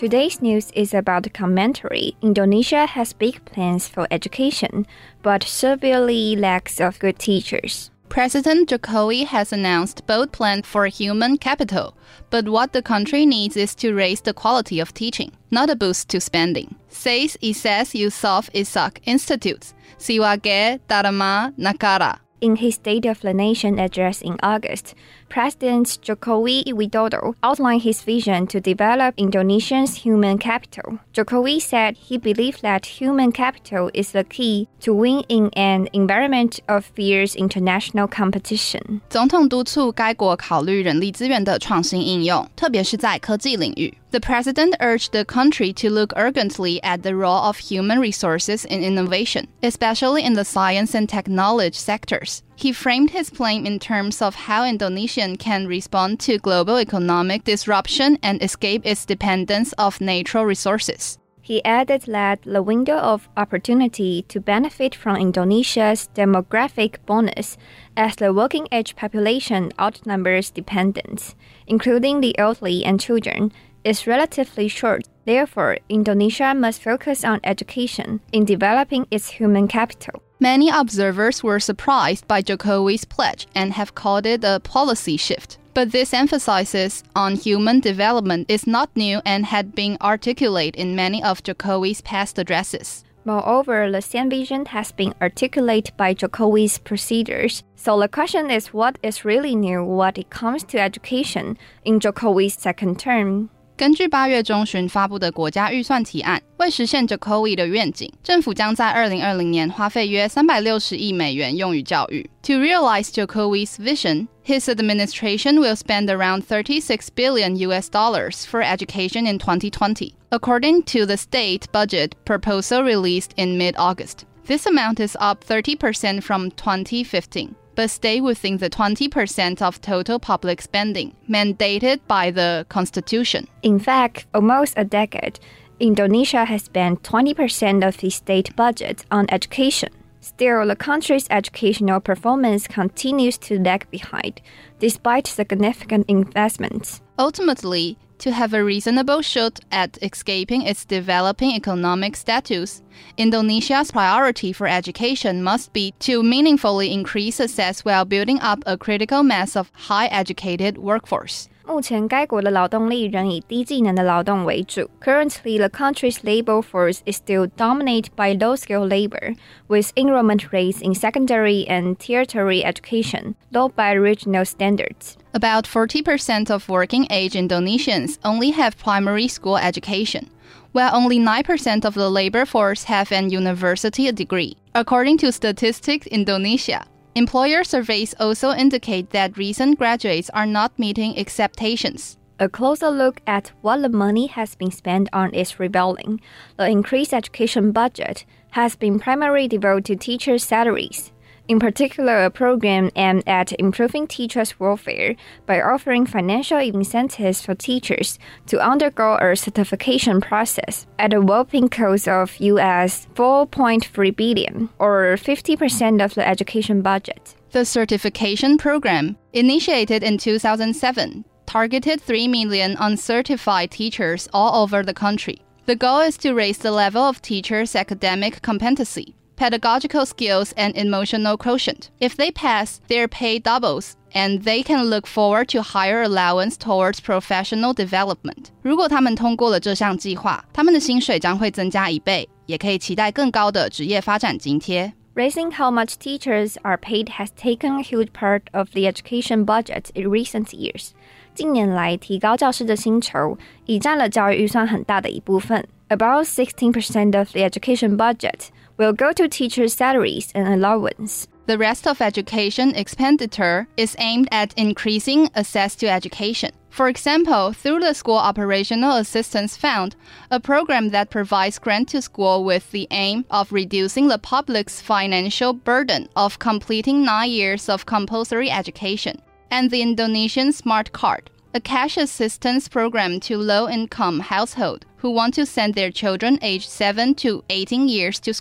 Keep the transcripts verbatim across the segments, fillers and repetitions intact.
Today's news is about the commentary. Indonesia has big plans for education, but severely lacks of good teachers. President Jokowi has announced bold plans for human capital, but what the country needs is to raise the quality of teaching, not a boost to spending, says Ises Yusof Ishak Institute, Siwage Dharma Nakara. In his State of the Nation address in August, President Jokowi Widodo outlined his vision to develop Indonesia's human capital. Jokowi said he believed that human capital is the key to win in an environment of fierce international competition. 总統督促該國考慮人力資源的創新應用，特別是在科技領域。The president urged the country to look urgently at the role of human resources in innovation, especially in the science and technology sectors. He framed his plan in terms of how Indonesia can respond to global economic disruption and escape its dependence of natural resources. He added that the window of opportunity to benefit from Indonesia's demographic bonus as the working-age population outnumbers dependents, including the elderly and children, is relatively short. Therefore, Indonesia must focus on education in developing its human capital. Many observers were surprised by Jokowi's pledge and have called it a policy shift. But this emphasis on human development is not new and had been articulated in many of Jokowi's past addresses. Moreover, the same vision has been articulated by Jokowi's procedures. So the question is, what is really new when it comes to education in Jokowi's second term? 根據八月中旬发布的国家預算提案，為實現 Jokowi 的願景，政府將在二零二零年花費約三百六十億美元用於教育。To realize Jokowi's vision, his administration will spend around thirty-six billion U S dollars for education in twenty twenty, according to the state budget proposal released in mid-August. This amount is up thirty percent from twenty fifteen. But stay within the twenty percent of total public spending mandated by the Constitution. In fact, almost a decade, Indonesia has spent twenty percent of its state budget on education. Still, the country's educational performance continues to lag behind, despite significant investments. Ultimately, to have a reasonable shot at escaping its developing economic status, Indonesia's priority for education must be to meaningfully increase access while building up a critical mass of high-educated workforce. 目前该国的勞動力仍以低技能的勞動為主。Currently, the country's labor force is still dominated by low-skilled labor, with enrollment rates in secondary and tertiary education low by regional standards. About forty percent of working-age Indonesians only have primary school education, while only nine percent of the labor force have an university degree, according to Statistics Indonesia. Employer surveys also indicate that recent graduates are not meeting expectations. A closer look at what the money has been spent on is revealing. The increased education budget has been primarily devoted to teachers' salaries. In particular, a program aimed at improving teachers' welfare by offering financial incentives for teachers to undergo a certification process at a whopping cost of U S four point three billion dollars, or fifty percent of the education budget. The certification program, initiated in two thousand seven, targeted three million uncertified teachers all over the country. The goal is to raise the level of teachers' academic competency, pedagogical skills, and emotional quotient. If they pass, their pay doubles, and they can look forward to higher allowance towards professional development. 如果他們通過了這項計劃，他們的薪水將會增加一倍，也可以期待更高的職業發展津貼。 Raising how much teachers are paid has taken a huge part of the education budget in recent years. 近年來，提高教師的薪酬已佔了教育預算很大的一部分。About sixteen percent of the education budget will go to teachers' salaries and allowance. The rest of education expenditure is aimed at increasing access to education. For example, through the School Operational Assistance Fund, a program that provides grant to school with the aim of reducing the public's financial burden of completing nine years of compulsory education, and the Indonesian Smart Card, a cash assistance program to low-income households who want to send their children aged seven to eighteen years to school.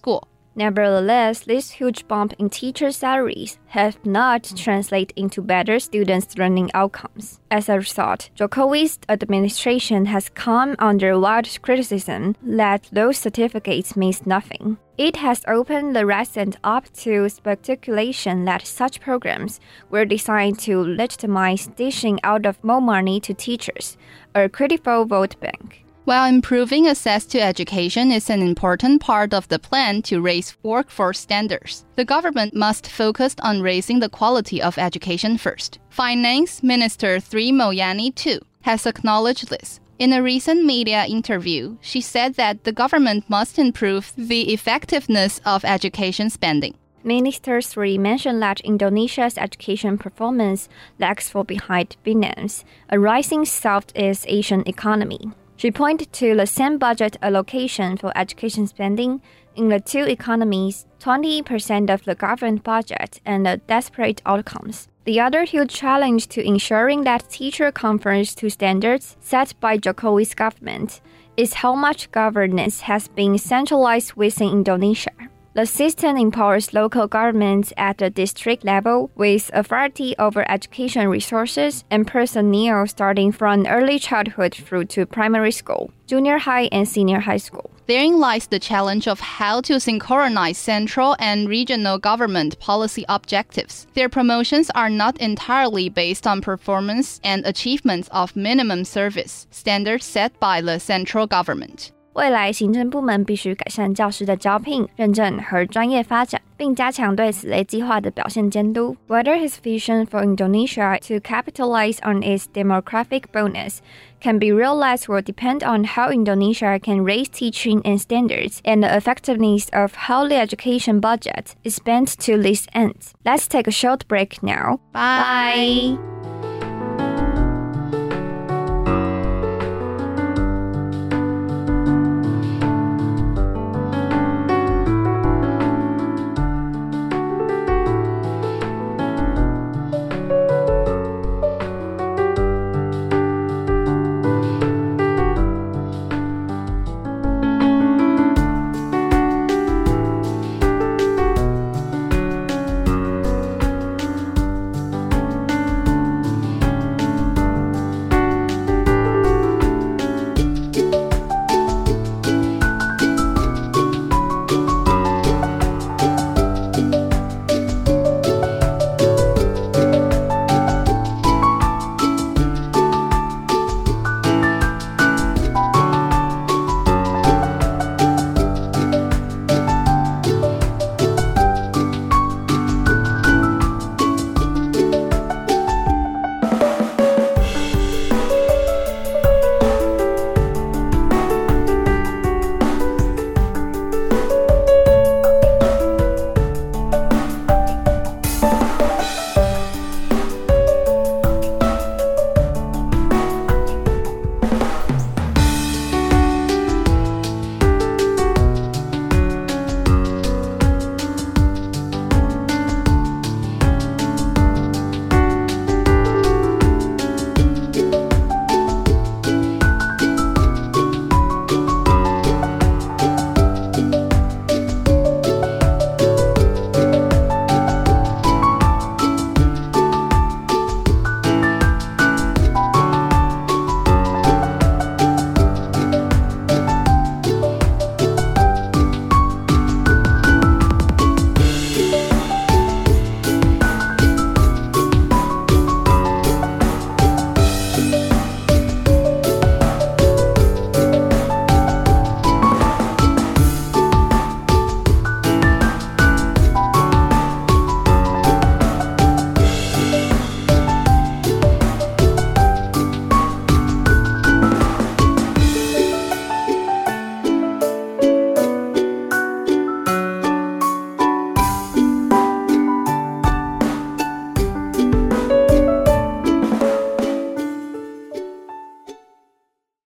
Nevertheless, this huge bump in teacher salaries have not translated into better students' learning outcomes. As a result, Jokowi's administration has come under wide criticism that those certificates means nothing. It has opened the recent up to speculation that such programs were designed to legitimize dishing out of more money to teachers, a critical vote bank. While improving access to education is an important part of the plan to raise workforce standards, the government must focus on raising the quality of education first. Finance Minister Sri Mulyani, too, has acknowledged this. In a recent media interview, she said that the government must improve the effectiveness of education spending. Minister Sri mentioned that Indonesia's education performance lags far behind Vietnam's, a rising Southeast Asian economy. She pointed to the same budget allocation for education spending in the two economies, twenty percent of the government budget, and the desperate outcomes. The other huge challenge to ensuring that teacher conforms to standards set by Jokowi's government is how much governance has been centralized within Indonesia. The system empowers local governments at the district level with authority over education resources and personnel starting from early childhood through to primary school, junior high, and senior high school. Therein lies the challenge of how to synchronize central and regional government policy objectives. Their promotions are not entirely based on performance and achievements of minimum service, standards set by the central government. 未来行政部门必須改善教師的招聘、認證和專業發展，並加強對此類計劃的表現監督。Whether his vision for Indonesia to capitalize on its demographic bonus can be realized will depend on how Indonesia can raise teaching and standards and the effectiveness of how the education budget is spent to this end. Let's take a short break now. Bye. Bye.